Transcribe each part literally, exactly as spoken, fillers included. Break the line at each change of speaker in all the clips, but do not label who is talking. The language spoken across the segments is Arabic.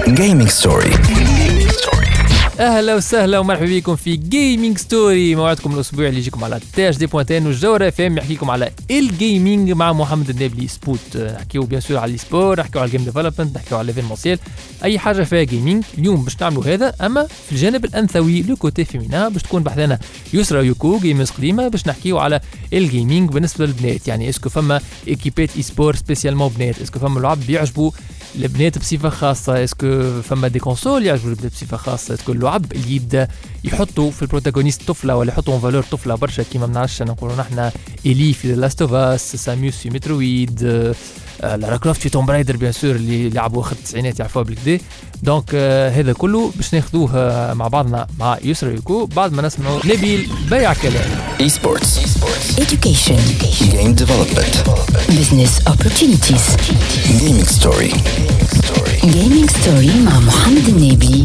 Gaming Story.
اهلا وسهلا ومرحبا بكم في جيمنج ستوري، موعدكم الاسبوعي اللي يجيكم على تاج دي بوانتين والجوهره اف ام، يحكيكم على الجيمنج مع محمد النابلي سبوت. نحكيو بيان سور على السبور، نحكيو على الجيم ديفلوبمنت، نحكيو على ليفينمونسيال، اي حاجه فيها جيمنج. اليوم باش نعملوا هذا، اما في الجانب الانثوي لو كوتي فيمينا باش تكون بحثنا يسرى يوكو جيمرز قديمه، باش نحكيو على الجيمنج بالنسبه للبنات. يعني اسكو فما ايكيبات اي سبور سبيسيالمون بنات، اسكو فما لعب بيعجبوا البنات بصفه خاصه، اسكو فما دي كونسول يعجبوا البنات بصفه خاصه، اسكو اللعب اللي يبدا يحطوا في البروتاغونيست طفله ولا يحطوا ان فالور طفله برشا كيما ما نعرفش نقولوا نحن إلي في لاست اوف اس، ساميوس في مترويد، لارا كروفت في توم برايدر بيان سور اللي لعبوا اخر التسعينات يعرفوها بالكدا. دونك آه هذا كله باش ناخذوه آه مع بعضنا مع يسرى يوكو بعد ما نسمعوا نبيل بيع كلام.
اي سبورتس،
education,
game development,
business opportunities,
gaming story.
gaming story مع محمد النابلي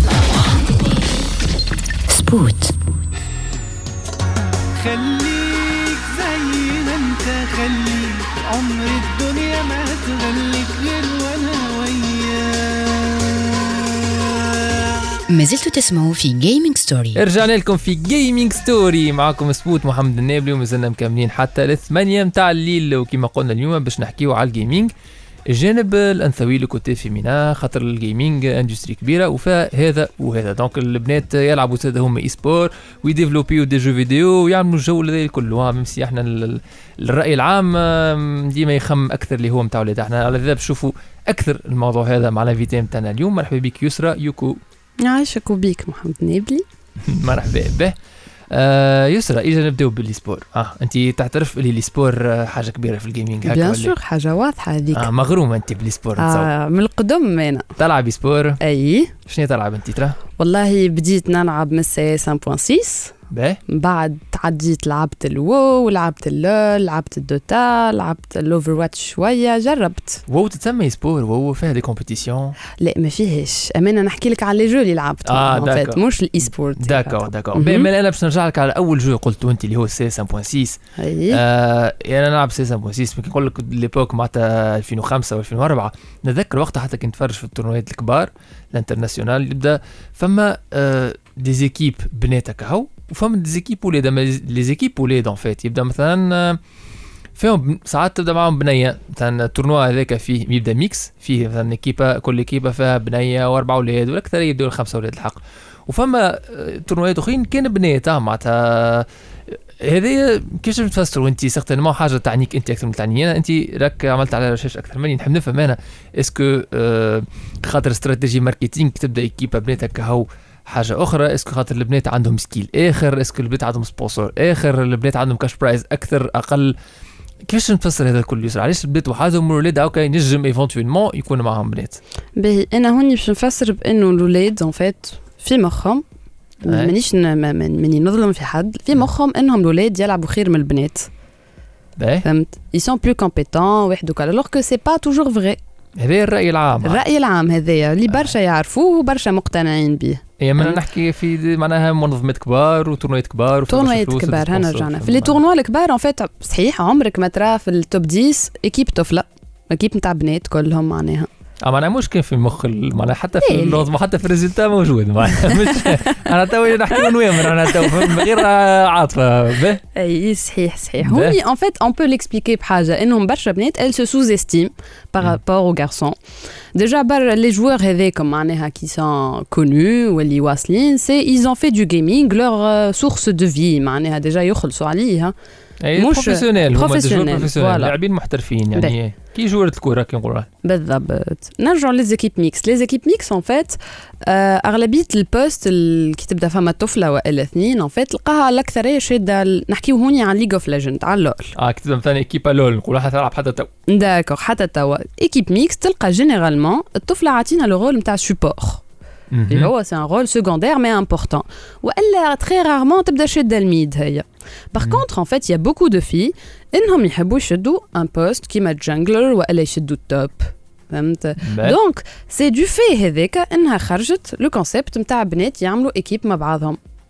سبوت.
خليك زي ما انت، خليك عمر الدنيا ما تغليك غير وانا وياك.
ما زلتوا تسمعوا في جيمنج ستوري.
رجعنا لكم في جيمنج ستوري، معكم سبوت محمد النابلي، ومازلنا مكملين حتى للثمانية متاع الليل، وكما قلنا اليوم باش نحكيو على الجيمنج الجانب الانثوي لو كوتي فيمينا، خاطر الجيمنج اندستري كبيره وفيها هذا وهذا. دونك البنات يلعبوا زاد هم اي سبور ويديفلوبيو دي جو فيديو ويعملوا الجو هذا كله، ميم سي احنا الراي العام ديما يخم اكثر اللي هو نتاع ولاد. احنا على ذا بنشوفوا اكثر الموضوع هذا مع الانفيتي نتاعنا اليوم. مرحبا بك يسرى يوكو.
عايشك وبيك محمد النابلي.
مرحبا به. آه يسرى، اجا نبداو بالسبور. اه انت تعترف اللي السبور حاجه كبيره في الجيمنج هكا؟
بيان سور حاجه واضحه هذيك.
اه مغرومه انت بالسبور.
آه من القدم انا
تلعب سبور.
اي
شنو تلعب انت ترى؟
والله بديت نلعب من سي خمسة فاصلة ستة،
باهي
بعد تعديت لعبت الوو، لعبت اللول، لعبت الدوتا، لعبت الاوفر واتش شويه، جربت.
وو تتسمى سبور؟ وو فيها دي كومبيتيسيون؟
لا ما فيهش امانه، نحكي لك على لي جو اللي لعبت
اه
فات مش الاي سبورت.
داكور داكور. بما انا باش نرجع لك على اول جو قلته انت اللي هو سي خمسة فاصلة ستة.
اي
آه انا نلعب سي خمسة فاصلة ستة، نقول لك ليبوك معناتها ألفين وخمسة وألفين وأربعة. نتذكر وقتها حتى كنت نتفرج في التورنوات الكبار الانترناسيونال، يبدا فما آه دي زيكيب بنات كهو وفما دي زيكيب ولاد. لي زيكيب ولاد ان فيت يبدا مثلا فيهم ساعات تبدا معهم بنيه، مثلا التورنوا هذاك فيه يبدا ميكس، فيه مثلا كيبه كل كيبه فيها بنيه واربع اولاد والاكثر يبداو الخمسه اولاد الحق. وفما تورنوات اخرين كان بنات معناتها. هذه كيفاش تفسروا انت سيغتينمون حاجه تعنيك انت اكثر من تعني انا؟ انت راك عملت على رشاش اكثر مني، نحب نفهم انا اسكو آه خاطر استراتيجي ماركتينغ تبدا كيبه بناتك هو حاجه اخرى، اسكو خاطر البنات عندهم سكيل اخر، اسكو البنات عندهم سبونسور اخر، البنات عندهم كاش برايز اكثر اقل؟ كيفاش نفسر هذا الكل يسرى؟ علاش البنات وحدهم والولاد هاكا ينجم ايفونتويلمون يكون معهم بنات؟
باهي انا هوني باش نفسر بانه الولاد ان فات في مخهم، مانيش ماني نظلم في حد، في مخهم انهم الولاد يلعبوا خير من البنات.
باهي
فهمت؟ ils sont plus compétents واحد وكذا، alors que c'est pas toujours vrai.
هذا الرأي العام.
الرأي العام هذايا اللي برشا يعرفوه وبرشا مقتنعين به.
اي من نحكي في معناها منظمات كبار وتورنوات كبار
تورنوات كبار. هنا رجعنا في لي تورنوا الكبار ان فيت. صحيح عمرك ما ترى في التوب عشرة ايكيب طفله، ايكيب نتاع بنات كلهم معناها.
اه معناها مشكل في المخ معناها، حتى في اللوز حتى في الريزلتا موجود معناها. مش انا توي نحكي نوامر انا تو من غير عاطفه. به
اي صحيح صحيح. هوني ان فيت اون بو ليكسبليكي بحاجه انهم برشا بنات elles se sous-estiment par rapport aux garçons. déjà بر لي جوور هذيكم معناها كي سون كونو واللي واصلين سي ils ont fait du gaming leur source de vie معناها ديجا يخلصوا عليها.
مش بروفيسيونيل، هما
بروفيسيونيل
لاعبين محترفين يعني كي جوره الكره كي نقولوا.
بالضبط. نرجعوا ليزيكيب ميكس. ليزيكيب ميكس ان فيت اغلبيه البوست اللي تبدا فما طفله والا اثنين ان فيت تلقاها الاكثريه شاده. نحكيو هوني عن ليج اوف ليجند، على لول.
اه كتب مثلا ايكيب لول نقولوا حتى تلعب حتى تو.
داكور حتى تو. ايكيب ميكس تلقى جينيرالمون الطفله عاطينا لو رول نتاع سبور اللي هو سي ان رول سكوندير مي امبورطون، والا تري رارمون تبدا شاده الميد هي. باغ كونتر ان فيت يا بوكو دو في انهم يحبوا يشدوا ان بوست كيما جانجلر والا يشدوا التوب. فهمت؟ دونك سي دو في هذاك انها خرجت لو كونسيبت نتاع بنات يعملوا ايكيب مع بعضهم.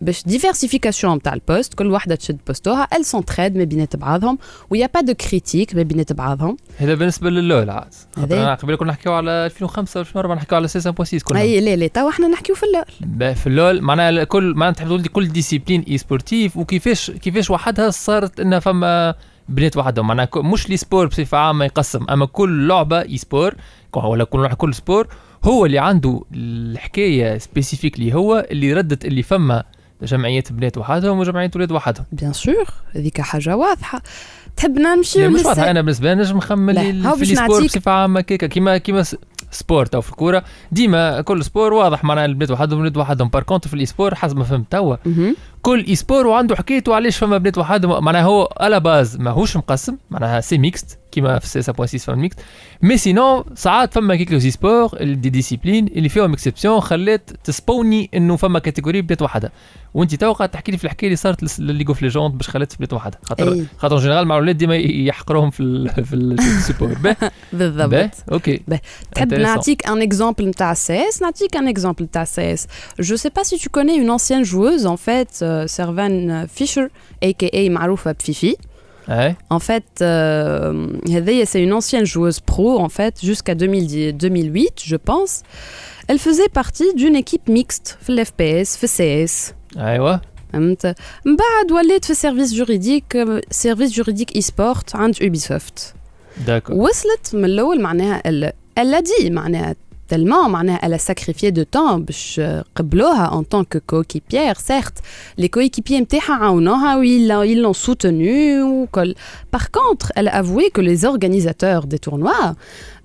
باش ديفيرسيفيكاسيون نتاع البوست، كل واحده تشد بوستوها، ال سونتريد ما بينات بعضهم ويا با دو كريتيك ما بينات بعضهم.
هذا بالنسبه للول عاد. انا قبل كنا نحكيو على ألفين وخمسة ألفين وأربعة نحكيو على ستة فاصلة ستة كلهم.
اي لا لا تو احنا نحكيو في اللول.
في اللول معناها كل معناها تحب تقول كل ديسيبلين اي سبورتيف وكيفاش كيفاش وحدها صارت انها فما بنات وحدهم، معناها مش لي سبور بصفه عامه يقسم، اما كل لعبه اي سبور ولا كل كل سبور هو اللي عنده الحكايه سبيسيفيكلي، هو اللي ردت اللي فما جمعيات بنات وحدهم وجمعيات ولاد وحدهم.
بيان سور هذيك حاجه واضحه. تحب نمشي
مش واضحه؟ انا بالنسبه لي نجم نخمم في السبور بصفه عامه كيكا كيما كيما سبورت او في الكوره ديما كل سبور واضح معناها البنات وحدهم والولاد وحدهم. بار كونت في الايسبور حسب ما فهمت توا كل ايسبور وعنده حكايته علاش فما بنات وحدهم، معناها هو على باز ماهوش مقسم، معناها سي ميكست كيما في ستة فاصلة ستة فما ميكست، مي سينو ساعات فما كيك لو سبور دي ديسيبلين اللي فيهم اكسبسيون خلات تسبوني انه فما كاتيجوري بنات وحدها. وانت تو قاعد تحكي لي في الحكايه اللي صارت لليغ اوف ليجوند باش خلات بنات وحدها، خاطر خاطر جينيرال مع الاولاد ديما يحقروهم في في السبور.
بالضبط.
اوكي
تحب نعطيك ان اكزامبل نتاع السي اس؟ نعطيك ان اكزامبل نتاع السي اس. جو سي با سي تو كوني اون انسيان جووز ان فيت سيرفان فيشر اي كي اي معروفه بفيفي.
Ouais.
En fait, euh, c'est une ancienne joueuse pro, en fait, jusqu'à deux mille huit, je pense. Elle faisait partie d'une équipe mixte, في ال F P S, في C S.
أيوة.
فهمت؟ من بعد ولات في سيرفيس جوريديك، سيرفيس جوريديك اي سبورت عند Ubisoft.
D'accord.
وصلت من الأول معناها elle, elle l'a dit معناها tellement معناها elle a sacrifié de temps باش قبلوها en tant que coéquipière. Certes, les coéquipiers نتاعها عاونوها و ils l'ont soutenue وكل. Par contre, elle a avoué que les organisateurs des tournois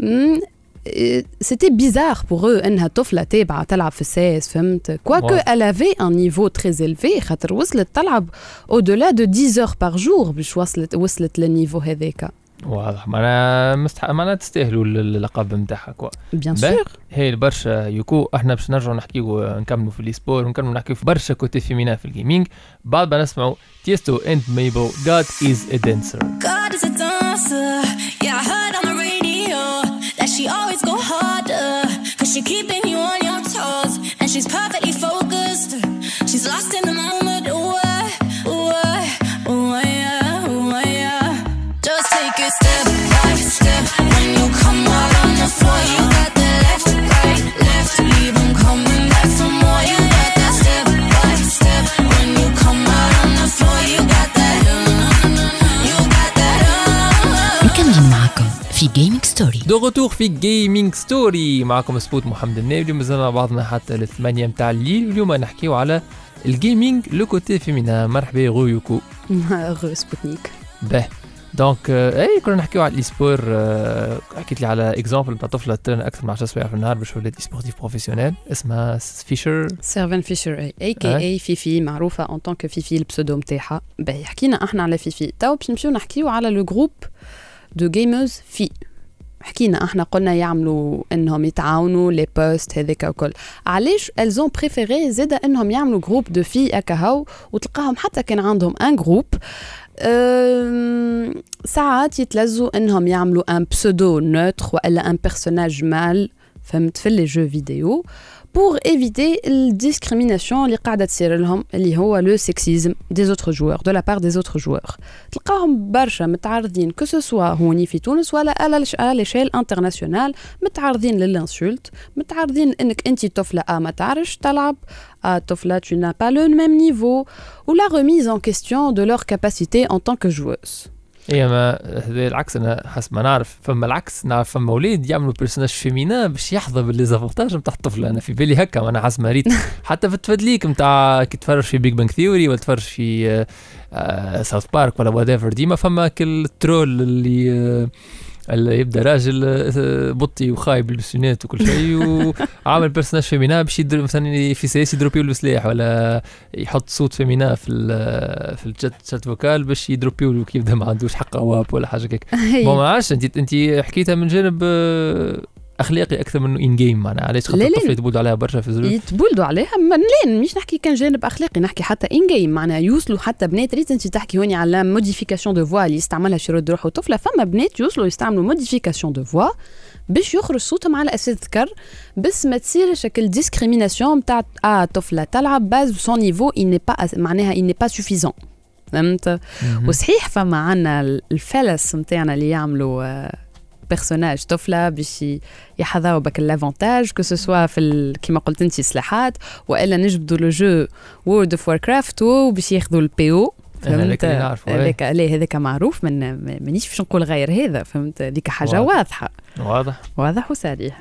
c'était bizarre pour eux انها طفله تابعه تلعب في الساس، فهمت؟ quoique elle avait un niveau très élevé خاطر وصلت تلعب au-delà de dix heures par jour باش وصلت وصلت للنيفو هذاك.
واضح. معناها مستحق معناها تستاهلوا اللقب نتاعها كوا.
بيان سور.
هي برشا يوكو احنا باش نرجعوا نحكيو نكملوا في السبور ونكملوا نحكيو في برشا كوتي فيمينا في الجيمنج. بعد ما نسمعوا تيستو اند ميبل God is a dancer.
God is a dancer. Yeah, I heard on the radio that she always go harder cause she keeping you on your toes and she's perfectly focused. She's lost in the moment. Ooh, ooh, ooh, yeah, ooh, yeah. Just take it step by step. When you come out on the floor, you got the left, right, left. Leave them coming back for more. You got that step by step. When you come out on the floor, you got that. You got that.
نكمل معكم في جيمنج ستوري.
دو غوتور في جيمنج ستوري معكم سبوت محمد النابلي ومازلنا مع بعضنا حتى الثمانية متاع الليل. واليوم نحكيو على الجيمنج لو كوتي فيمينا. مرحبا يا غويوكو.
غو سبوتنيك.
به دونك اي كنا نحكيو على الايسبور. حكيت لي على اكزامبل نتاع طفله ترين اكثر من عشر سوايع في النهار باش ولات سبورتيف بروفيسيونيل اسمها فيشر
سيرفان فيشر اي اي كي اي فيفي معروفه اون طونك فيفي البسودوم تاعها. باهي حكينا احنا على فيفي. تو باش نمشيو نحكيو على لو جروب دو جيمرز في. حكينا احنا قلنا يعملوا انهم يتعاونوا لي بوست هذاك وكل. علاش الزون بريفيري زاده انهم يعملوا جروب دو في اكاهو وتلقاهم حتى كان عندهم ان جروب أه... ساعات يتلزوا انهم يعملوا ان بسودو نوتر ولا ان بيرسوناج مال، فهمت؟ في لي جو فيديو pour éviter la discrimination اللي قاعدة تصير لهم اللي هو le sexisme des autres joueurs de la part des autres joueurs. تلقاهم برشا متعرضين que ce soit هوني في تونس ولا على l'échelle internationale متعرضين للانسولت، متعرضين انك انت طفلة آه ما تعرفش تلعب، آه طفلة tu n'as pas le même niveau ou la remise en question de leur capacité en tant que joueuse.
ايه ما هذا العكس. انا حسب ما نعرف فما العكس، نعرف فما اولاد يعملوا بيرسوناج فيمينا باش يحظى بالليزافونتاج نتاع الطفل. انا في بالي هكا انا حسب ما ريت حتى في التفادليك نتاع كي تفرج في بيج بانك ثيوري ولا تفرج في ساوث بارك ولا وات ديما فما كل الترول اللي آه اللي يبدا راجل بطي وخايب بالبسونات وكل شيء وعامل بيرسوناج فيمينا باش يدير مثلا في سياسي يدروبيو له سلاح ولا يحط صوت فيمينا في في الشات شات فوكال باش يدروبيو له كيف ما عندوش حق اواب ولا حاجه هيك. بون ما عادش انت انت حكيتها من جانب اخلاقي اكثر منه ان جيم. معناها علاش خاطر الطفل يتبولدوا عليها برشا في الزروب
يتبولدوا عليها. لا مش نحكي كان جانب اخلاقي، نحكي حتى ان جيم. معناها يوصلوا حتى بنات ريت انت تحكي هوني على موديفيكاسيون دو فوا اللي يستعملها شي رد روحه طفله. فما بنات يوصلوا يستعملوا موديفيكاسيون دو فوا باش يخرج صوتهم على اساس ذكر بس ما تصير شكل ديسكريميناسيون نتاع اه طفله تلعب باز سون نيفو il n'est pas معناها il n'est pas suffisant فهمت. وصحيح فما عنا الفلس نتاعنا اللي يعملوا بيرسوناج طفله باش يحظاو بك الافونتاج كو سوسوا في كيما قلت انت سلاحات والا نجبدوا لو جو وورد اوف واركرافت وباش ياخذوا البي او فهمت. هذاك ليه هذاك معروف من مانيش باش نقول غير هذا فهمت ديك حاجه واضح. واضحه
واضح
واضح وصريح.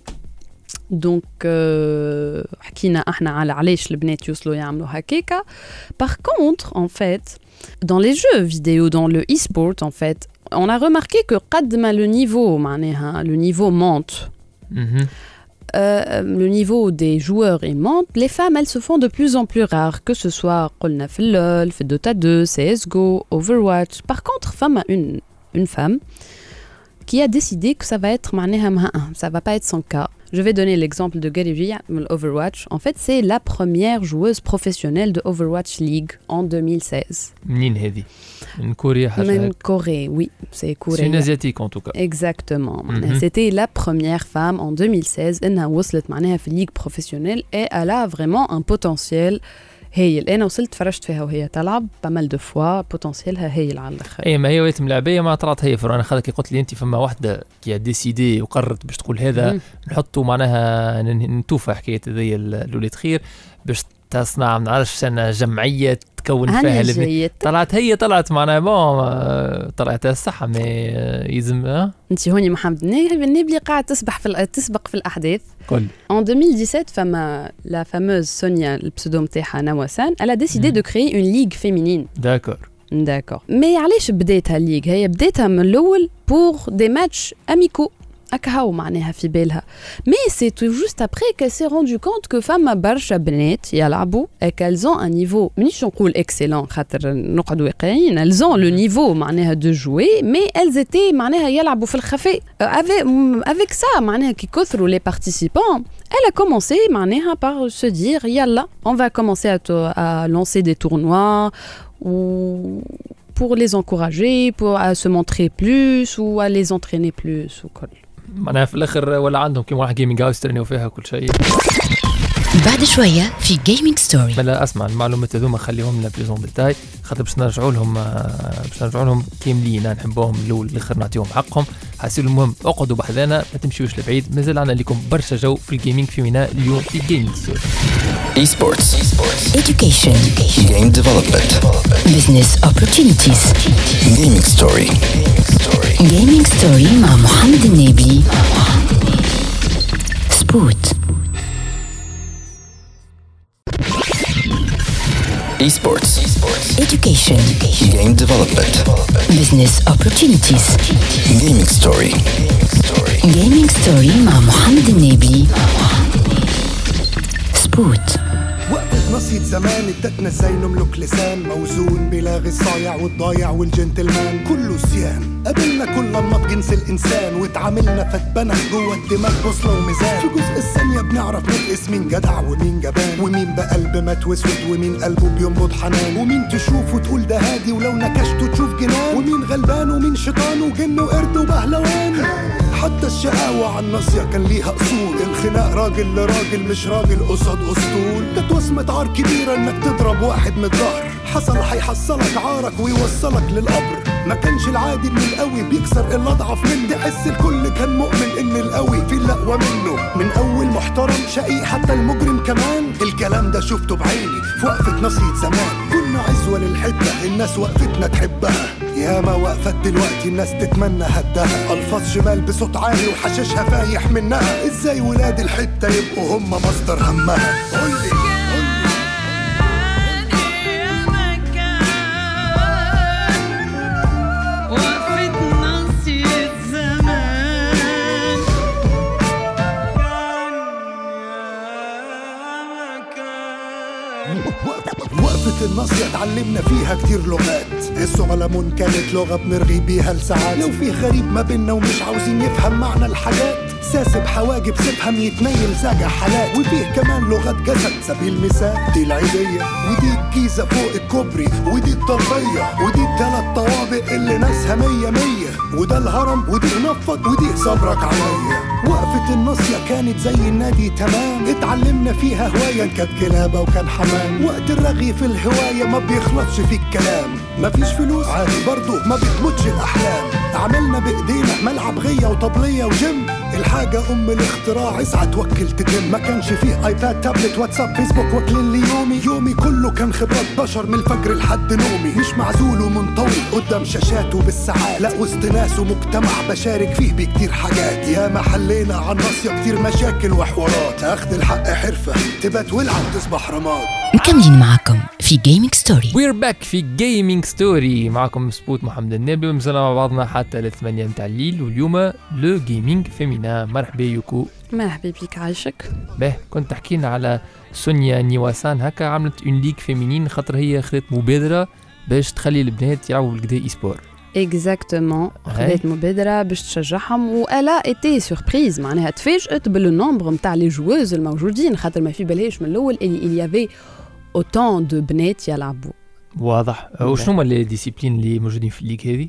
دونك euh, حكينا احنا على علاش البنات يوصلوا يعملوا هكاكا. Par contre en fait dans les jeux vidéo dans le e-sport en fait on a remarqué que قد ما le niveau معناها le niveau monte mm-hmm. Euh, le niveau des joueurs et monte, les femmes elles se font de plus en plus rares, que ce soit قلنا في LOL, في Dota deux, C S G O, Overwatch. Par contre, femme une une femme qui a décidé que ça va être معناها ça va pas être son cas. Je vais donner l'exemple de Gary Overwatch. En fait, c'est la première joueuse professionnelle de Overwatch League en deux mille seize.
منين هذه؟ من كوريا حاجة؟
من كوريا, oui, c'est Corée.
C'est une asiatique en tout cas.
Exactement. Mm-hmm. C'était la première femme en deux mille seize. Elle وصلت معناها في Ligue professionnelle et elle a vraiment un potentiel. هايل. انا وصلت فرجت فيها وهي تلعب بمال دو فوا بوتنسيالها هايل على الاخر.
اي ما هي ويت ملاعبيه ما طلعت هي فرانه خلك قلت لي انت فما واحده كي ديسيدي وقررت باش تقول هذا نحطوا معناها نتوفى حكايه هذه الوليد خير باش تصنع ما نعرفش انا جمعيه تكون فيها البنات. طلعت هي طلعت معناها بون طلعت الصحه ما يلزم.
انت هوني محمد النبلي قاعد تسبح في تسبق في الاحداث.
كل
En deux mille dix-sept, فما la fameuse Sonia, le pseudo نتاعها نواسان, elle a décidé mm. de créer une ligue féminine.
D'accord.
D'accord. Mais علاش بديتها الليغ؟ هي بديتها من الأول pour des matchs amicaux. أكهو معناها في بالها. Mais c'est tout juste après qu'elle s'est rendue compte que فما برشا بنات يلعبوا et qu'elles ont un niveau منيش نقول excellent خاطر نقعدوا واقعين. Elles ont le niveau معناها de jouer mais elles étaient معناها يلعبوا في الخفاء. Avec avec ça معناها كي كثروا les participants, elle a commencé معناها par se dire يلا on va commencer à, à lancer des tournois ou pour les encourager, pour à se montrer plus ou à les entraîner plus وكل.
معناها في الاخر ولا عندهم كيما واحد جيمنج هاوس ترينيو فيها كل شيء.
بعد شويه في جيمنج ستوري.
بلا اسمع المعلومات هذوما خليهم لنا بليزون ديتاي خاطر باش نرجعوا لهم باش نرجعوا لهم كاملين نحبوهم الاول الاخر نعطيهم حقهم. حاسين المهم اقعدوا بحذانا ما تمشيوش لبعيد مازال عندنا لكم برشا جو في الجيمنج فينا اليوم في جيمنج ستوري.
Esports,
education,
game development,
business opportunities,
gaming story.
gaming story مع محمد النبي. سبوت.
Esports,
education,
game development,
business opportunities,
gaming story.
gaming story مع محمد النبي. سبوت.
وقفت نصية زمان ادتنا ازاي نملك لسان موزون بلاغي الصايع والضايع والجنتلمان كله سيان. قابلنا كل انماط جنس الانسان واتعاملنا فتبنى جوه الدماغ بوصله وميزان. في جزء الثانيه بنعرف نقيس مين جدع ومين جبان ومين بقلب مات واسود ومين قلبه بينبض حنان ومين تشوف وتقول ده هادي ولو نكشته تشوف جنان ومين غلبان ومين شيطان وجن وقرد وبهلوان. حتى الشقاوة على الناصية كان ليها أصول. الخناق راجل لراجل مش راجل قصاد أسطول. كانت وصمة عار كبيرة إنك تضرب واحد من الظهر. حصل هيحصلك عارك ويوصلك للقبر. ما كانش العادي إن القوي بيكسر الأضعف منه. تحس الكل كان مؤمن إن القوي في الأقوى منه. من أول محترم شقيق حتى المجرم كمان. الكلام ده شفته بعيني في وقفة نصية زمان. كنا عزوة للحدة الناس وقفتنا تحبها. ياما وقفت دلوقتي الناس تتمنى هدها. الفاظ شمال بصوت عالي وحشاشها فايح منها. ازاي ولاد الحته يبقوا هم مصدر همها؟ قولي وقفة الناصية اتعلمنا فيها كتير لغات. الصغلمون كانت لغة بنرغي بيها لساعات. لو في غريب ما بينا ومش عاوزين يفهم معنى الحاجات ساسب حواجب سيبهم يتنيل زاجع حالات. وفيه كمان لغات جسد سبيل المثال دي العيدية ودي الجيزة فوق الكوبري ودي الطلبية ودي تلات طوابق اللي ناسها مية مية، وده الهرم ودي نفض ودي صبرك عليا. وقفة الناصية كانت زي النادي تمام، اتعلمنا فيها هواية كانت كلابة وكان حمام. وقت الرغي في الهواية ما بيخلصش في الكلام، مفيش فلوس عادي برضو ما بتموتش الأحلام. عملنا بإيدينا ملعب غية وطبلية وجيم، الحاجة أم الاختراع اسعى توكل تتم. ما كانش فيه ايباد تابلت واتساب فيسبوك واكلين لي يومي، يومي كله كان خبرات بشر من الفجر لحد نومي. مش معزول ومنطوي قدام شاشاته بالساعات، لا وسط ناس ومجتمع بشارك فيه بكتير حاجات. يا ما حلينا عن ناصية كتير مشاكل وحوارات، اخد الحق حرفة تبات والعب تصبح رماد.
مكملين معكم في جيمنج ستوري.
وير باك في جيمنج ستوري، معكم سبوت محمد النبي، ومازلنا مع بعضنا حتى للثمانية متاع الليل. واليوم لو جيمنج فيمينا. مرحبا يوكو.
مرحبا بك عايشك.
به كنت تحكينا على سونيا نيواسان، هكا عملت اون ليغ فيمينين خاطر هي خذت مبادرة باش تخلي البنات يلعبوا بالكدا اي سبور.
اكزاكتومون، خذت مبادرة باش تشجعهم، والا ايتي سوربريز، معناها تفاجأت بالنومبر نتاع لي جووز الموجودين، خاطر ما في بالهاش من الاول اللي يافي اوتون دو بنات يلعبوا.
واضح. وشنو هما لي ديسيبلين اللي موجودين في الليغ هذه؟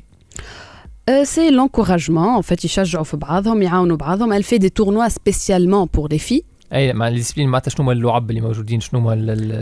سي لونكوراجمون، ان فات يشجعوا في بعضهم، يعاونوا بعضهم. elle fait des tournois spécialement pour les filles.
اي مع الديسيبلين معناتها شنو هما اللعب اللي موجودين؟ شنو هما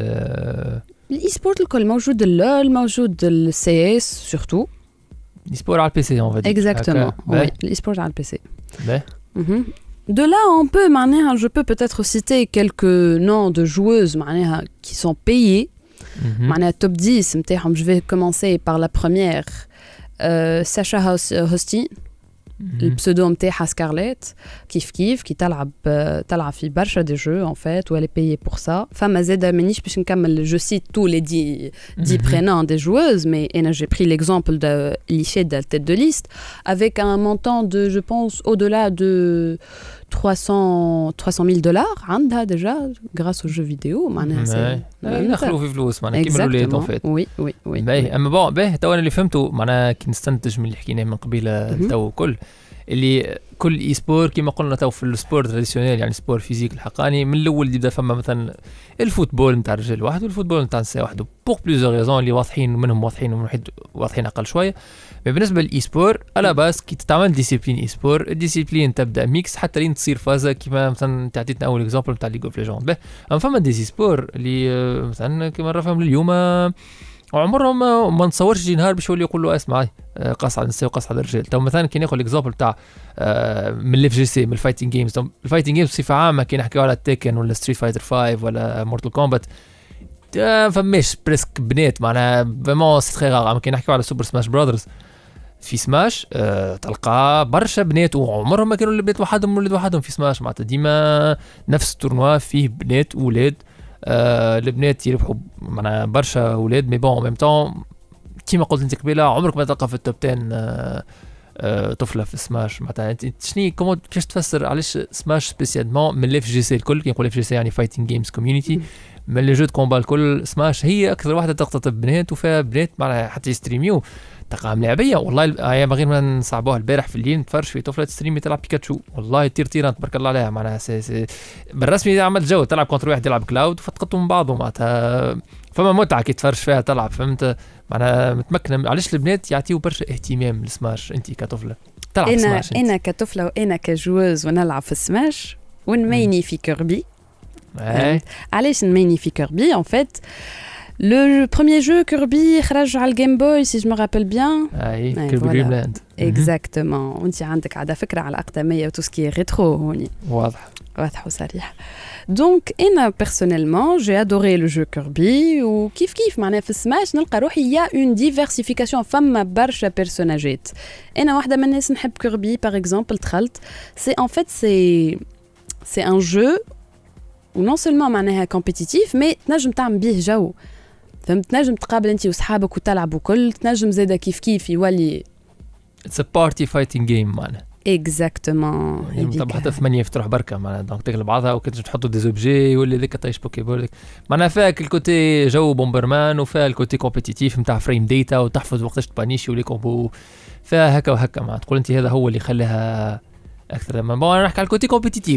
الاي سبورت الكل موجود، اللول موجود، السي اس سورتو.
الاي سبور على البي سي اون فادي.
اكزاكتومون، وي الاي سبورت على البي سي.
باهي.
De là, on peut, معناها, je peux peut-être citer quelques noms de joueuses معناها, qui sont payées. معناها top dix متاعهم. Je vais commencer par la première. Euh, Sacha Hosty. البسودو متاعها سكارليت، كيف كيف كي تلعب تلعب في برشا دي جو ان فيت، و elle est payée pour ça. فما زاده مانيش باش نكمل جو سيت تو لي دي دي برينون دي joueuses, mais انا j'ai pris l'exemple de Liché de la tête de liste avec un montant de, je pense, au-delà de trois cents mille dollars عندها déjà grâce aux jeux vidéo. معناها
ندخلوا في فلوس معناها كيما الولاد ان فيت.
وي وي وي.
باهي. اما بون باهي تو انا اللي فهمته معناها كي نستنتج من اللي حكيناه من قبيله تو كل اللي كل اي سبور كما قلنا تو في السبور تراديسيونيل، يعني سبور فيزيك الحقاني، من الاول يبدا فما مثلا الفوتبول نتاع الرجال واحد والفوتبول نتاع النساء واحد، بوغ بليزيور ريزون اللي واضحين منهم واضحين ومن واحد واضحين اقل شويه. بالنسبه للاي سبور الا باس كي تتعمل ديسيبلين اي سبور، الديسيبلين تبدا ميكس حتى لين تصير فازه كما مثلا تعطيتنا اول اكزامبل نتاع ليغ اوف ليجوند. به اما فما دي سبور اللي مثلا كما نفهم اليوم وعمرهم ما نتصورش يجي نهار باش يولي يقول له اسمع قاص على النساء وقاص على الرجال. تو مثلا كي ناخذ الاكزامبل تاع من الاف جي سي، من الفايتنج جيمز. الفايتنج جيمز بصفه عامه كي نحكيو على تيكن ولا ستريت فايتر خمسة ولا مورتال كومبات فماش بريسك بنات، معناها فريمون سي تري غار. كي نحكيو على سوبر سماش براذرز، في سماش أه تلقى برشا بنات وعمرهم ما كانوا البنات وحدهم ولد وحدهم في سماش، معناتها ديما نفس التورنوا فيه بنات وولاد. أه البنات يربحوا معنا برشا ولاد، مي بون ميم طون كيما قلت انت قبيله عمرك ما تلقى في التوب عشرة أه أه طفله في سماش. معناتها انت شني كومون كيفاش تفسر علاش سماش سبيسيالمون من الاف جي سي الكل؟ كي نقول اف جي سي يعني فايتنج جيمز كوميونيتي، من لي جو دو كومبا الكل سماش هي اكثر واحده تقتطب بنات وفيها بنات معناها حتى يستريميو تلقاها ملاعبيه. والله هي من غير ما نصعبوها البارح في الليل نتفرج في طفله تستريمي تلعب بيكاتشو، والله تير تيران تبارك الله عليها. معناها سي سي بالرسمي عمل جو، تلعب كونتر واحد يلعب كلاود فتقطوا من بعضهم، معناتها فما متعه كي تفرج فيها تلعب، فهمت؟ معناها متمكنه. علاش البنات يعطيو برشا اهتمام للسماش انت كطفله تلعب
أنا
سماش؟
انا انا كطفله وانا كجوز ونلعب في السماش ونميني في كيربي. علاش نميني في كيربي؟ ان فيت le premier jeu Kirby خرج على الجيم بوي si je me rappelle bien.
اي كيربي دريم لاند.
اكزاكتومون. وانت عندك عاده فكره على اقدميه وتو سكي ريترو هوني.
واضح
واضح وصريح. دونك انا بيرسونيلمون جي ادوري لو جو كيربي، وكيف كيف معناها في السماش نلقى روحي يا اون ديفيرسيفيكاسيون، فما برشا بيرسوناجات. انا واحده من الناس نحب كيربي باغ اكزومبل. دخلت سي ان فيت سي سي ان جو ونون سولمون معناها كومبيتيتيف، مي تنجم تعمل بيه جو، فهمت؟ تنجم تقابل انت وصحابك وتلعبوا كل، تنجم زاده كيف كيف يولي
اتس ا بارتي فايتنج جيم معناها.
اكزاكتومون.
طبعا حتى ثمانية يفتحوا بركه معناها، دونك تقلب بعضها وكنت تحطوا دي زوبجي ولا ذيك طيش بوكيبول معناها فيها الكوتي جو بومبرمان وفيها الكوتي كومبيتيتيف نتاع فريم ديتا وتحفظ وقتاش تبانيشي ولي كومبو، فيها هكا وهكا. ما تقول انت هذا هو اللي خلاها اكثر. ما بون نحكي على الكوتي كومبيتيتيف تو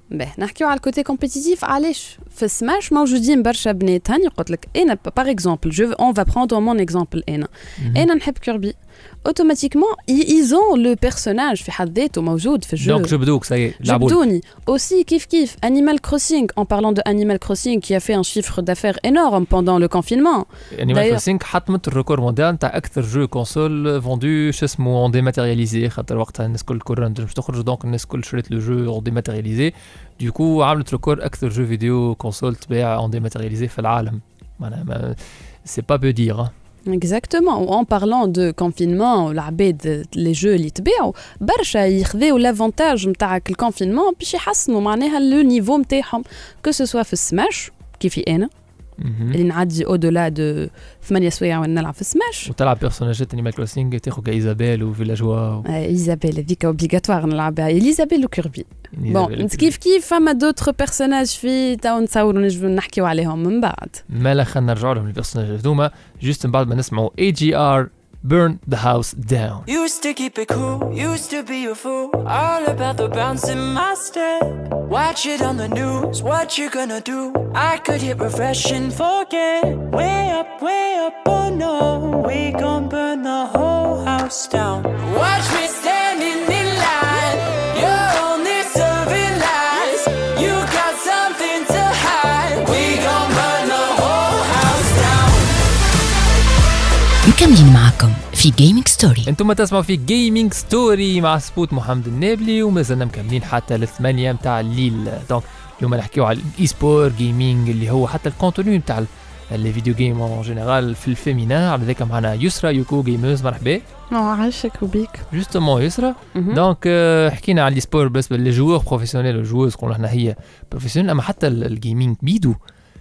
باهي نحكيو على الكوتي كومبيتيتيف. علاش في سماش موجودين برشا بنات؟ هاني قلت لك انا باغ اكزومبل جو اون فا بروندر مون اكزومبل. انا انا نحب كيربي اوتوماتيكمون ايزون لو بيرسوناج في حد ذاته موجود في الجو.
دونك جبدوك ساي
جبدوني اوسي كيف كيف انيمال كروسينغ. اون بارلون دو انيمال كروسينغ كي ا في ان شيفر دافير انورم بوندون لو كونفينمون.
انيمال كروسينغ حطمت الريكور مونديال تاع اكثر جو كونسول فوندو شو اسمه اون ديماتيرياليزي، خاطر وقتها الناس كل كورن باش تخرج دونك الناس كل شريت لو جو اون ديماتيرياليزي. دوكو عملت ريكور اكثر جو فيديو كونسول تباع اون ديماتيرياليزي في العالم. معناها سي با بو دير.
Exactement. En parlant de confinement, العباد les jeux اللي تباعوا برشا يخذوا لافونتاج نتاعك الكونفينمون باش يحسنوا معناها لو نيفو نتاعهم، كو سو سوا في السماش كيفي انا اللي نعدي او دولا دو ثمانية سوايع وانا نلعب في سماش
وتلعب بيرسوناجات انيمال كروسينغ تاخذ كايزابيل وفيلاجوا.
ايزابيل هذيك اوبليغاتوار نلعبها، ايزابيل وكيربي. بون كيف كيف فما دوتر بيرسوناج في تاو نتصوروا نجموا نحكيو عليهم من بعد.
مالا خلينا نرجعوا لهم البيرسوناج هذوما جوست من بعد ما نسمعوا اي جي ار Burn the House Down.
Used to keep it cool, used to be a fool, all about the bounce in my step. Watch it on the news, what you gonna do? I could hit refresh and forget. Way up, way up, oh no, we gon' burn the whole house down. Watch me standing in line, you're only serving lies. You got something to hide, we gon' burn the whole house down.
مكملين معكم في جيمنج ستوري.
انتم تسمعوا في جيمنج ستوري مع سبوت محمد النابلي، وما زلنا مكملين حتى للثمانية متاع الليل. دونك اليوم نحكيو على الاي سبور جيمنج اللي هو حتى الكونتوني متاع لي فيديو جيم اون جينيرال في الفيمينا. على ذاك معنا يسرا يوكو جيمرز، مرحبا.
عاشك وبيك.
جوستومون يسرا دونك حكينا على الاي سبور بس لي جوور بروفيسيونيل والجوز قلنا احنا هي بروفيسيونيل، اما حتى الجيمنج بيدو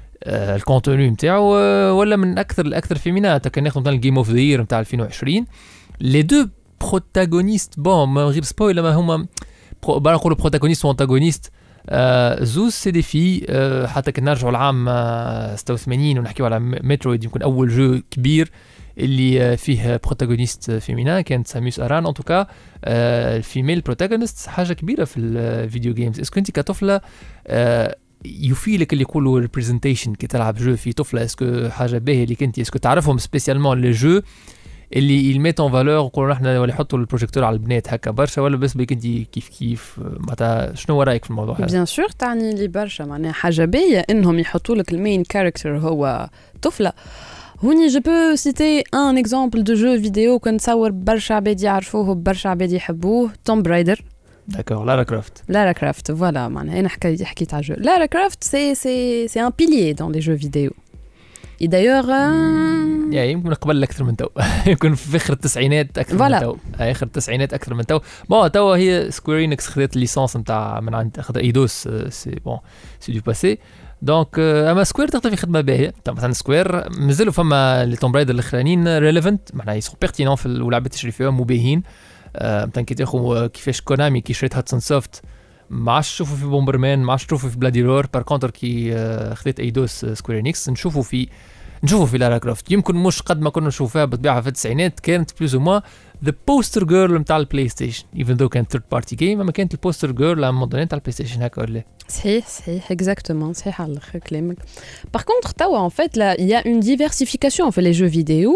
آه الكونتوني نتاعو آه ولا من اكثر الاكثر فيمينات. كان ناخذ مثلا الجيم اوف ذا يير نتاع ألفين وعشرين لي دو بروتاغونيست بون من غير سبويل ما هما بقى نقولوا بروتاغونيست وانتاغونيست آه زوز سي دي في آه حتى كنا نرجعوا العام آه ستة وثمانين ونحكيو على مترويد يمكن اول جو كبير اللي آه فيه بروتاغونيست فيمينا كانت ساموس اران. ان توكا آه الفيميل بروتاغونيست حاجه كبيره في الفيديو جيمز. اسكو انت كطفله آه يفيلك اللي يقولوا ريبريزنتيشن كي تلعب جو في طفله؟ اسكو حاجه باهيه اللي كنتي اسكو تعرفهم سبيسيالمون لي جو اللي يميت اون فالور يقولوا احنا ولا يحطوا البروجيكتور على البنات هكا برشا، ولا بس بك انت كيف كيف معناتها شنو رايك في الموضوع هذا؟
بيان سور تعني لي برشا معناها حاجه باهيه انهم يحطوا لك المين كاركتر هو طفله. هوني جو بو سيتي ان اكزامبل دو جو فيديو كنتصور برشا عباد يعرفوه برشا عباد يحبوه، توم برايدر.
D'accord, Lara Croft.
Lara Croft, voilà. أنا حكيت حكيت على الجو. Lara Croft, c'est c'est c'est un pilier dans les jeux vidéo. Et d'ailleurs, euh...
يا يمكن قبل أكثر من تو. يمكن في آخر التسعينات أكثر voilà. من تو. آخر التسعينات أكثر من تو. بون تو هي سكوير إنكس خذت الليسانس نتاع من عند أخذ إيدوس سي بون سي دو باسي. دونك اما سكوير تقدر في خدمه باهيه. مثلا سكوير مازالوا فما لي توم برايدر الاخرانيين ريليفنت معناها يسون بيرتينون في اللعبه تشري فيهم مباهين. مثلا كي تاخذ كيفاش كونامي كي شريت هاتسون سوفت ما عادش تشوفوا في بومبرمان، ما عادش تشوفوا في بلادي رور. بار كونتر كي خذيت ايدوس سكوير انكس نشوفوا في نشوفوا في لارا كروفت. يمكن مش قد ما كنا نشوفها بطبيعه في التسعينات، كانت بلوز او موا ذا بوستر جيرل نتاع البلاي ستيشن ايفن ذو كانت ثيرد بارتي جيم، اما كانت البوستر جيرل على موديل نتاع البلاي ستيشن هكا ولا
صحيح صحيح اكزاكتومون صحيح على الاخر كلامك. باغ كونتر توا ان فيت لا يا اون ديفيرسيفيكاسيون في لي جو فيديو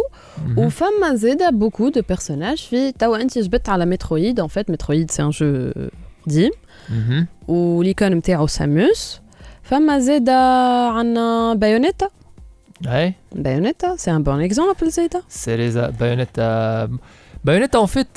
وفما زاده بوكو دو بيرسوناج في توا. انت جبت على مترويد ان فيت مترويد سي ان جو ديم وليكون نتاعو ساموس. فما زاده عندنا بايونيتا.
اي
بايونيتا سي ان بون اكزامبل زاده
سيريزا بايونيتا. بايونيتا ان فيت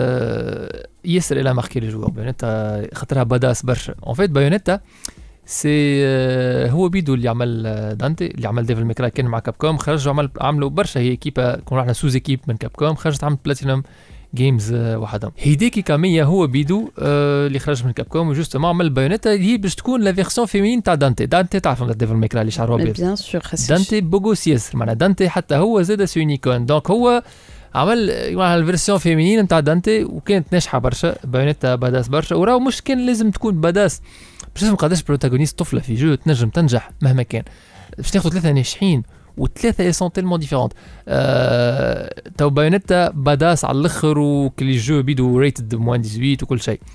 ياسر الى ماركي لي جوور. بايونيتا خاطرها بداس برشا. ان فيت بايونيتا سي هو بيدو اللي عمل دانتي اللي عمل ديفل ميكراي كان مع كاب كوم، خرجوا عمل عملوا برشا. هي كيبا كنا احنا سوز اكيب من كاب كوم، خرجت عملت بلاتينوم جيمز وحدهم. هيديكي كاميا هو بيدو آه اللي خرج من كاب كوم وجوستومون عمل بايونيتا هي باش تكون لا فيرسيون فيمين تاع دانتي. دانتي تعرفوا ديفل ميكراي اللي شعره ابيض
بيان سور خاصك
دانتي بوغوس ياسر معناها دانتي حتى هو زاد سيونيكون. دونك هو عمل الفيرسيون فيمينين نتاع دانتي وكانت ناجحه برشا. بايونيتا بداس برشا وراو مش كان لازم تكون بداس باش تفهم قداش بروتاغونيست طفله في جو تنجم تنجح مهما كان. باش تاخذ ثلاثه ناجحين وثلاثه اي سون تيلمون ديفيرونت. أه... تو بايونيتا بداس على الاخر وكل جو بيدو ريتد موان ثمانية عشر وكل شيء.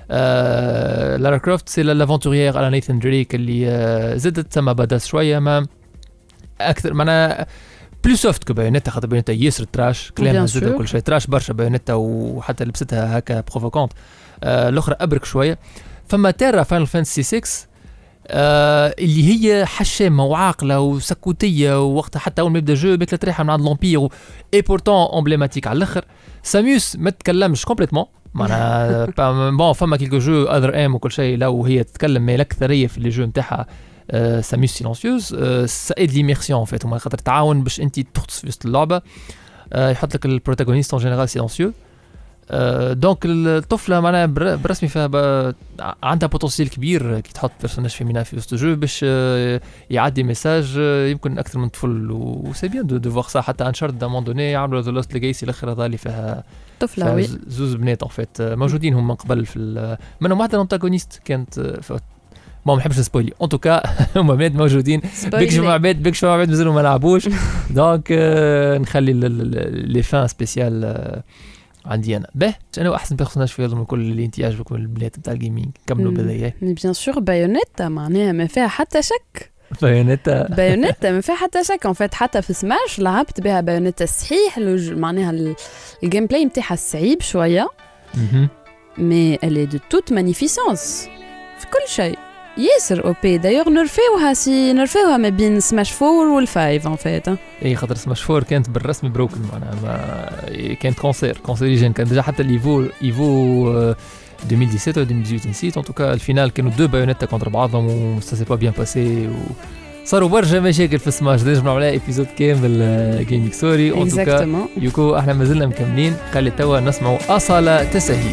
آه لارا كروفت سي لافونتوريير على نيثان دريك اللي آه زادت سما بدات شويه ما اكثر معنا بلو سوفت كو بايونيتا خاطر بايونيتا ياسر تراش كلامها زاد كل شيء تراش برشا بايونيتا وحتى لبستها هكا بروفوكونت آه الاخرى ابرك شويه. فما تيرا فاينل فانتسي ستة آه اللي هي حشامه وعاقله وسكوتيه ووقتها حتى اول ما يبدا جو بك تريحه من عند لومبير اي بورتون امبليماتيك على الاخر. ساميوس ما تكلمش كومبليتمون معناها بون فما كيلكو جو اذر ام وكل شيء لا وهي تتكلم مي الاكثريه في لي جو نتاعها آه ساميوس سيلونسيوز آه سايد ليميرسيون فات وما خاطر تعاون باش انت تغطس في وسط اللعبه آه يحط لك البروتاغونيست اون جينيرال سيلونسيو آه دونك الطفله معناها برسمي فيها عندها بوتنسيال كبير كي تحط بيرسوناج فيمينا في وسط الجو باش آه يعدي ميساج آه يمكن اكثر من طفل وسي بيان دو دو فوار سا حتى انشارت دا مون دوني عملوا ذا لوست ليجاسي الاخر هذا اللي فيها
طفله وي
زوز بنات اون فيت موجودين هم من قبل في منهم واحده الانتاغونيست كانت ما نحبش نسبويلي ان توكا هما بنات موجودين بيك شو عباد بيك شو عباد مازالوا ما لعبوش دونك آه نخلي لي فان سبيسيال عندي انا به انا احسن بيرسوناج في هذا من كل اللي انت يعجبكم البنات نتاع الجيمنج كملوا بهذايا
بيان سور بايونيتا معناها ما فيها حتى شك
بايونيتا
بايونيتا ما فيها حتى شك ان فيت حتى في سماش لعبت بها بايونيتا صحيح معناها الجيم بلاي نتاعها صعيب شويه مي الي دو توت مانيفيسونس في كل شيء ياسر او بي دايوغ نرفيوها سي نرفيوها ما بين سماش فور والفايف ان فيت
اي خاطر سماش فور كانت بالرسمي بروكن معناها ما كانت كونسير كونسيريجين كان ديجا حتى الايفو ايفو ألفين وسبعطاش و ألفين وثمانية عشر نسيت ان توكا الفينال كانوا دو بايونيتا كونتر بعضهم و سا سي با بيان باسي و صاروا برشا مشاكل في سماش نجم نعمل عليها ايبيزود كامل جيمنج ستوري ان توكا يوكو احنا مازلنا مكملين خلي توا نسمعوا اصاله تسهيل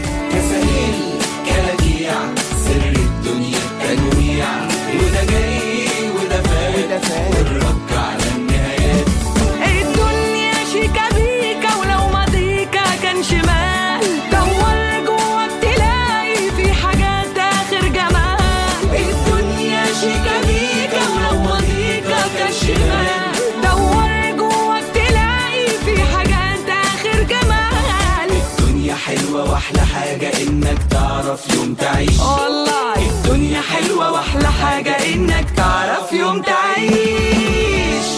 واحلى حاجة انك تعرف يوم تعيش والله الدنيا حلوة واحلى حاجة انك تعرف يوم تعيش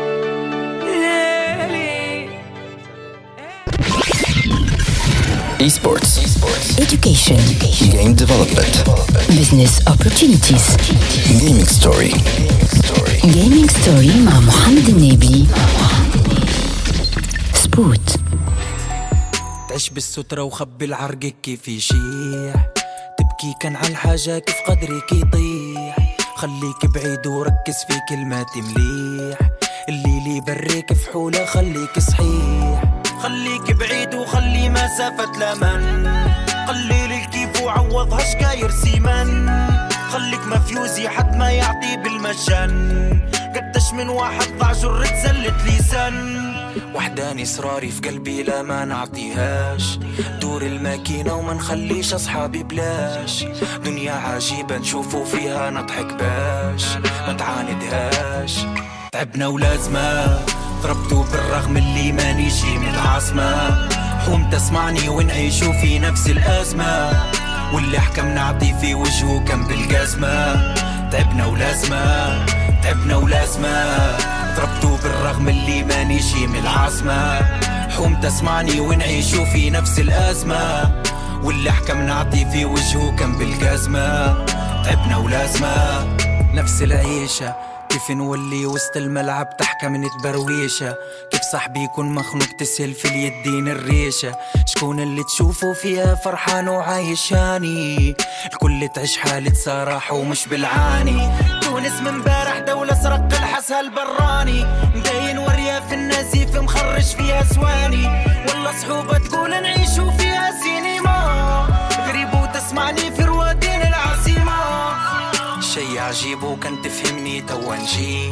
Esports. Esports.
Education.
Game development.
Business opportunities.
Gaming story.
Gaming story مع محمد النبي. سبوت.
تعيش بالسترة وخبي العرق كيف يشيح تبكي كان على الحاجة كيف قدرك يطيح خليك بعيد وركز في كلمات مليح اللي لي بريك في حولة خليك صحيح خليك بعيد وخلي مسافة لمن قليل الكيف وعوضها شكاير سيمن خليك مفيوزي حد ما يعطي بالمجان قدش من واحد ضاع جرة زلت لسان وحداني إصراري في قلبي لا ما نعطيهاش دور الماكينة وما نخليش أصحابي بلاش دنيا عجيبة نشوفوا فيها نضحك باش ما تعاندهاش تعبنا ولازمة ضربتو بالرغم اللي ما نيجي من العاصمة حوم تسمعني ونعيشوا في نفس الأزمة واللي حكم نعطي في وجهه كم بالجزمة تعبنا ولازمة تعبنا ولازمة ضربتو بالرغم اللي ما نيجي من العاصمة حوم تسمعني ونعيشوا في نفس الأزمة واللي حكم نعطي في وجهه كم بالجزمة تعبنا ولازمة نفس العيشة كيف نولي وسط الملعب تحكى من تبرويشة كيف صاحبي يكون مخنوق تسهل في اليدين الريشة شكون اللي تشوفه فيها فرحان وعايشاني الكل تعيش حالة صراحة ومش بالعاني تونس من بارح دولة سرق الحسها البراني مدين ورياف النزيف مخرج فيها سواني والله صحوبة تقول نعيشوا فيها سينما غريب وتسمعني في روادين العاصمة شي عجيب وكان تفهمني توا نجي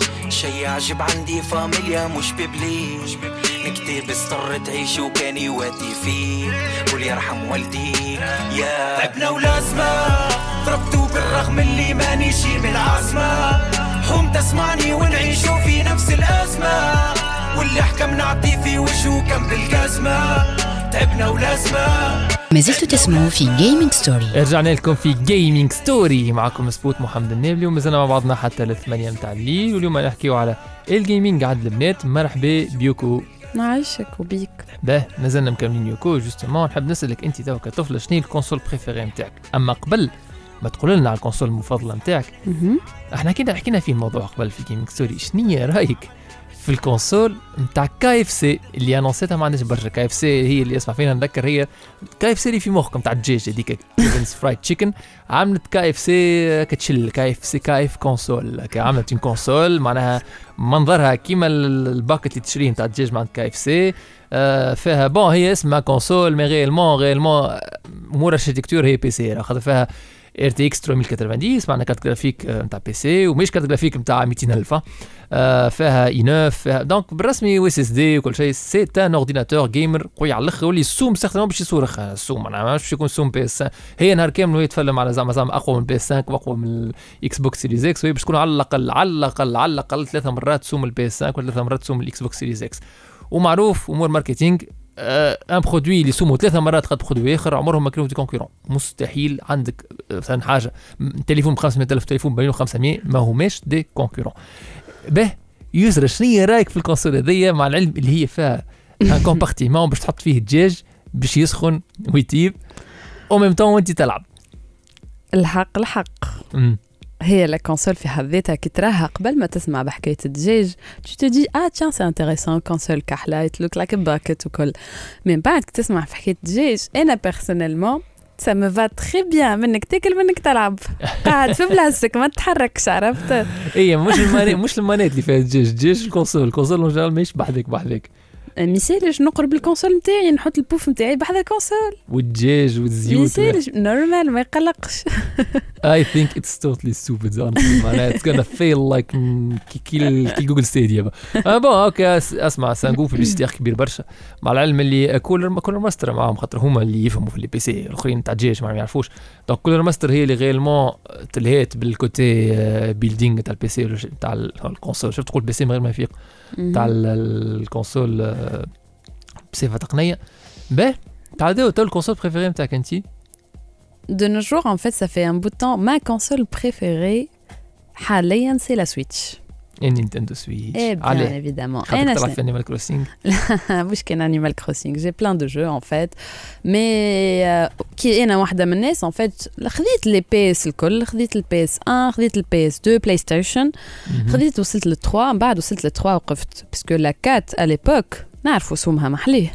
شي عجيب عندي فاميليا مش ببلي نكتب استر تعيش وكان يواتي فيه قول يرحم والدي يا تعبنا ولازمة ضربتو بالرغم اللي ما نيجي من العاصمة حوم تسمعني ونعيشوا في نفس الأزمة واللي حكم نعطي في وجهه كم بالجزمة تعبنا ولازمة.
ما زلتوا تسمعوا في جيمنج ستوري.
رجعنا لكم في جيمنج ستوري، معكم سبوت محمد النابلي، ومازلنا مع بعضنا حتى الثمانية متاع الليل، واليوم نحكيو على الجيمنج عند البنات. مرحبا بيوكو.
نعيشك وبيك.
باه مازلنا مكملين يوكو. جوستومون نحب نسألك انت تو كطفلة شنو الكونسول بريفيري نتاعك؟ اما قبل ما تقول لنا على الكونسول المفضلة نتاعك، احنا كنا حكينا في الموضوع قبل في جيمنج ستوري. شنو رايك في الكونسول نتاع كاي اف سي اللي انونسيتها؟ ما عندناش برشا. كاي اف سي هي اللي اسمع فينا نذكر، هي كاي اف سي اللي في مخكم نتاع الدجاج هذيك كيفنز فرايد تشيكن. عملت كاي اف سي كتشل كاي اف سي كاي اف كونسول. عملت une كونسول معناها منظرها كيما الباكت اللي تشريه نتاع الدجاج مع كاي اف سي. آه فيها بون هي اسمها كونسول، مي غيلمون غيلمون امور اركتيكتور هي بي سي، خاطر فيها ار تي اكس ثلاثمية وثمانين معنا كارت جرافيك نتاع بي سي، ومش كارت جرافيك نتاع مئتين ألف. آه فيها اي تسعة، فيها دونك بالرسمي و اس اس دي وكل شيء. سي ان اورديناتور جيمر قوي على الاخر، واللي السوم سيغتينمون باش يصورخ السوم، انا ما باش يكون سوم بي اس. هي نهار كامل وهي تفلم على زعما زعما اقوى من بي اس خمسة واقوى من الاكس بوكس سيريز اكس، وهي باش تكون على الاقل على الاقل على الاقل ثلاثه مرات سوم البي اس خمسة وثلاثه مرات سوم الاكس بوكس سيريز اكس. ومعروف امور ماركتينغ، ان آه برودوي اللي سومو ثلاثه مرات قد برودوي اخر عمرهم ما كانوا دي كونكورون. مستحيل عندك مثلا حاجه تليفون ب خمسمية ألف تليفون ب مليون وخمسمية ما هماش دي كونكورون. به يسرى شنو رايك في الكونسول هذيا، مع العلم اللي هي فيها ان كومبارتيمون باش تحط فيه الدجاج باش يسخن ويطيب او ميم طون وانت تلعب؟
الحق الحق
امم
هي لا كونسول في حد ذاتها كي تراها قبل ما تسمع بحكايه الدجاج tu te dis ah tiens c'est intéressant كونسول كحله it look like a bucket وكل. من بعد كي تسمع في حكايه الدجاج انا بيرسونيلمون ça me va très bien منك تاكل منك تلعب قاعد في بلاصتك ما تتحركش، عرفت؟
اي مش المانيت مش المانيت اللي فيها الدجاج، الدجاج الكونسول الكونسول ان جنرال ماهيش بحذاك بحذاك.
مثالش نقرب الكونسول نتاعي نحط البوف نتاعي بحذا الكونسول
والدجاج والزيوت
مثالش نورمال ما يقلقش.
I think it's totally stupid honestly. معناها it's gonna fail like كي كي كي جوجل ستيديا. اه بون اوكي اسمع سانقو في بيستيخ كبير برشا، مع العلم اللي كولر كولر ماستر معاهم خاطر هما اللي يفهموا في البي بي سي، الاخرين تاع الدجاج ما يعرفوش. دونك كولر ماستر هي اللي غيرمون تلهيت بالكوتي بيلدينغ تاع البي سي تاع الكونسول. شفت تقول بي سي من غير ما يفيق تاع الكونسول بصفه تقنيه. به تعداو تو الكونسول بريفيري نتاعك انت؟
De nos jours, en fait, ça fait un bout de temps. Ma console préférée, حاليا, c'est la Switch.
Et Nintendo Switch.
Eh bien,
Allez.
évidemment.
خاطر تلعب في Animal Crossing.
مش كان Animal Crossing. J'ai plein de jeux, en fait. Mais كي أنا واحدة من الناس, en fait, خذيت les بي إس الكل, خذيت ال بي إس واحد, خذيت ال بي إس اثنين, PlayStation, خذيت وصلت ل ثلاثة, من بعد وصلت ل ثلاثة وقفت. Parce que la quatre, à l'époque, نعرفوا سومها محليه.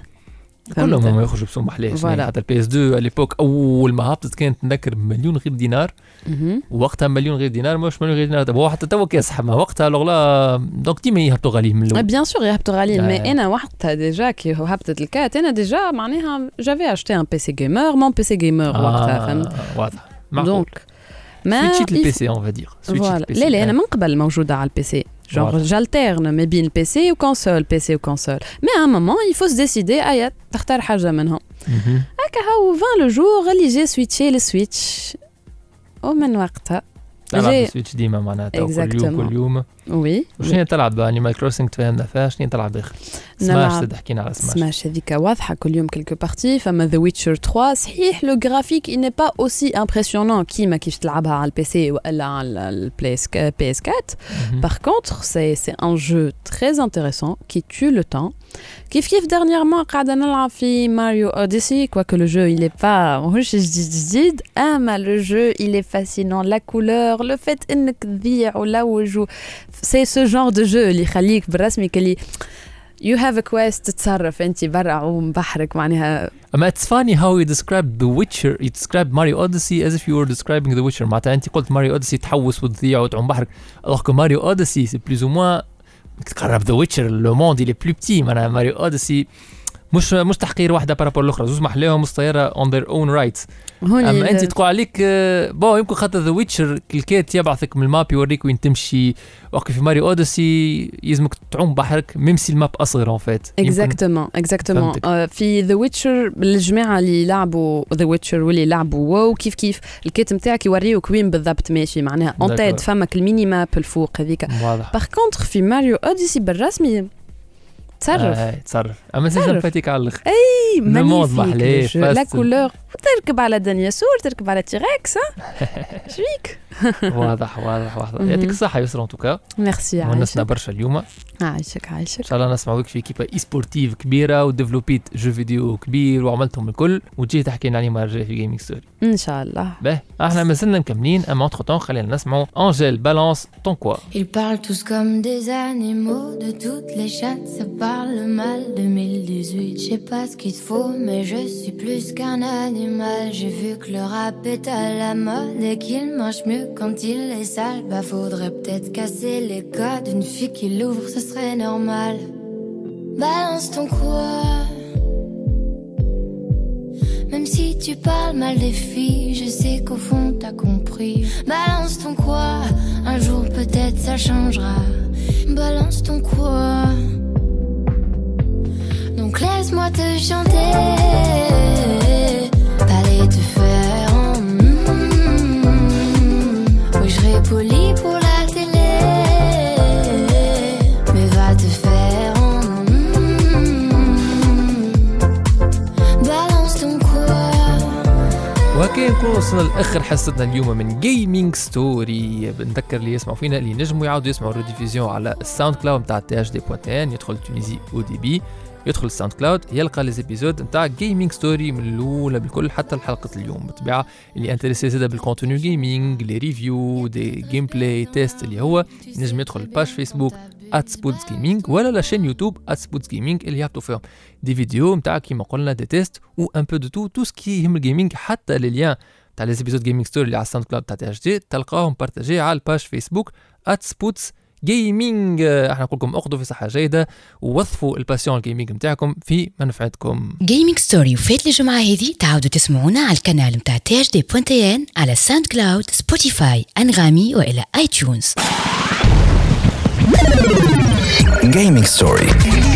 كلهم ما يخرجوا بسوم محليه. حتى البي اس اثنين على ليبوك اول ما هبطت كانت نذكر مليون غير دينار. وقتها مليون غير دينار مش مليون غير دينار، هو حتى تو كيصحى ما وقتها لوغلا دونك ديما يهبطوا غاليين من الاول.
بيان سور يهبطوا غاليين، مي انا وقتها ديجا كي هبطت الكات انا ديجا معناها جافي اشتي ان بي سي جيمر مون بي سي جيمر وقتها فهمت.
واضح
دونك ما
سويتشيت البي سي اون فادير
سويتشيت البي سي. لا لا انا من قبل موجوده على البي سي. Genre, j'alterne ما بين بي سي وكونسول بي سي وكونسول. Mais à un moment, il faut se décider أي تختار حاجة منهم. هكا هاو vingt le jour اللي جي سويتشي للسويتش. ومن وقتها
تلعب سويتش ديما معناتها كل يوم كل يوم.
وي.
وشنو تلعب انيمال كروسنج تفهمنا فيها؟ شنو تلعب اخر؟ سماش تحكينا على سماش.
سماش هذيك واضحة كل يوم كلكو بارتي. فما ذا ويتشر ثلاثة صحيح لو غرافيك إي ني با أوسي امبرسيونون كيما كيف تلعبها على البي سي ولا على البي اس بي اس أربعة. Par contre, c'est c'est un jeu très intéressant qui tue le temps. كيف كيف dernièrement قاعدة نلعب في ماريو أوديسي quoique le jeu il est pas ماهوش جديد جديد أما le jeu il est fascinant, la couleur, le fait إنك تضيع ولوج. c'est ce genre de jeu اللي يخليك بالرسمي كلي you have a quest تتصرف انت برا عوم بحرك معناها.
اما it's funny how you described The Witcher, you described Mario Odyssey as if you were describing The Witcher. معناتها انت قلت ماريو اوديسي تحوس وتضيع وتعوم بحرك، alors que Mario Odyssey c'est plus ou moins تقرب The Witcher le monde il est plus petit. معناها ماريو اوديسي مش مش تحقير واحده بارابور الاخرى، زوج محليهم مستيره on their own rights. اما انت تقول عليك بون يمكن خاطر ذا ويتشر الكيت يبعثك من الماب يوريك وين تمشي، وقت في ماريو اوديسي يلزمك تعوم بحرك ميم سي الماب اصغر اون فيت.
اكزاكتومون اكزاكتومون في ذا ويتشر الجماعه اللي لعبوا ذا ويتشر واللي لعبوا واو كيف كيف الكيت نتاعك يوريوك وين بالضبط ماشي معناها اون تيد فمك الميني ماب الفوق هذيك. باغ كونتر في ماريو اوديسي بالرسمي تصرف
آه تصرف اما سي سامباتيك على الاخر
اي
مونط محلاه
لا كولور تركب على دنياسور تركب على تيركس شويك
واضح واضح واضح يعطيك الصحه يسرا ان توكا
ميرسي
ونسنا برشا اليوم
عايشك عايشك
ان شاء الله نسمعوك في كيبا اي سبورتيف كبيره وديفلوبيت جو فيديو كبير وعملتهم الكل وتجي تحكي لنا عليه مره جايه في جيمنج ستوري
ان شاء الله.
باهي احنا مازلنا مكملين اما entre temps خلينا نسمعوا انجيل بالانس طون كوا.
Ils parlent tous comme des animaux, de toutes les chattes ça parle mal. deux mille dix-huit, je sais pas ce qu'il te faut, mais je suis plus qu'un animal. J'ai vu que le rap est à la mode et qu'il mange mieux quand il est sale. Bah faudrait peut-être casser les codes, une fille qui l'ouvre ce serait normal. Balance ton quoi. Même si tu parles mal des filles, je sais qu'au fond t'as compris. Balance ton quoi, un jour peut-être ça changera. Balance ton quoi. Donc laisse-moi te chanter, aller te faire en mm-hmm. Oui je serai poli pour la télé, mais va te faire en
وهكا نكون وصلنا لاخر حصتنا اليوم من جيمنج ستوري. بنذكر اللي يسمعوا فينا اللي نجموا يعاودوا يسمعوا الريديفيزيون على الساوند كلاود نتاع تي اش دي بوان تي ان. يدخل تونيزي او دي بي يدخل الساوند كلاود يلقى لي زيبيزود نتاع جيمنج ستوري من الاولى بالكل حتى الحلقه اليوم. بالطبيعه اللي انتريسي زاده بالكونتوني جيمنج لي ريفيو دي جيم بلاي تيست اللي هو نجم يدخل الباج فيسبوك @سبوتس جيمنج ولا لا شين يوتيوب @سبوتس جيمنج اللي يحطوا فيهم دي فيديو نتاع كيما قلنا دي تيست و ان بو دو تو تو سكي يهم الجيمنج. حتى لي ليان تاع لي زيبيزود جيمنج ستوري اللي على الساوند كلاود تاع تي اش دي تلقاهم بارطاجي على الباج فيسبوك @سبوتس جيمنج. احنا نقول لكم اخذوا في صحه جيده ووظفوا الباسيون الجيمنج نتاعكم في منفعتكم.
جيمنج ستوري وفات الجمعه هذه تعاودوا تسمعونا على القناه نتاع تي اش دي بوان تي ان على ساوند كلاود سبوتيفاي انغامي والى اي تيونز.
Gaming Story.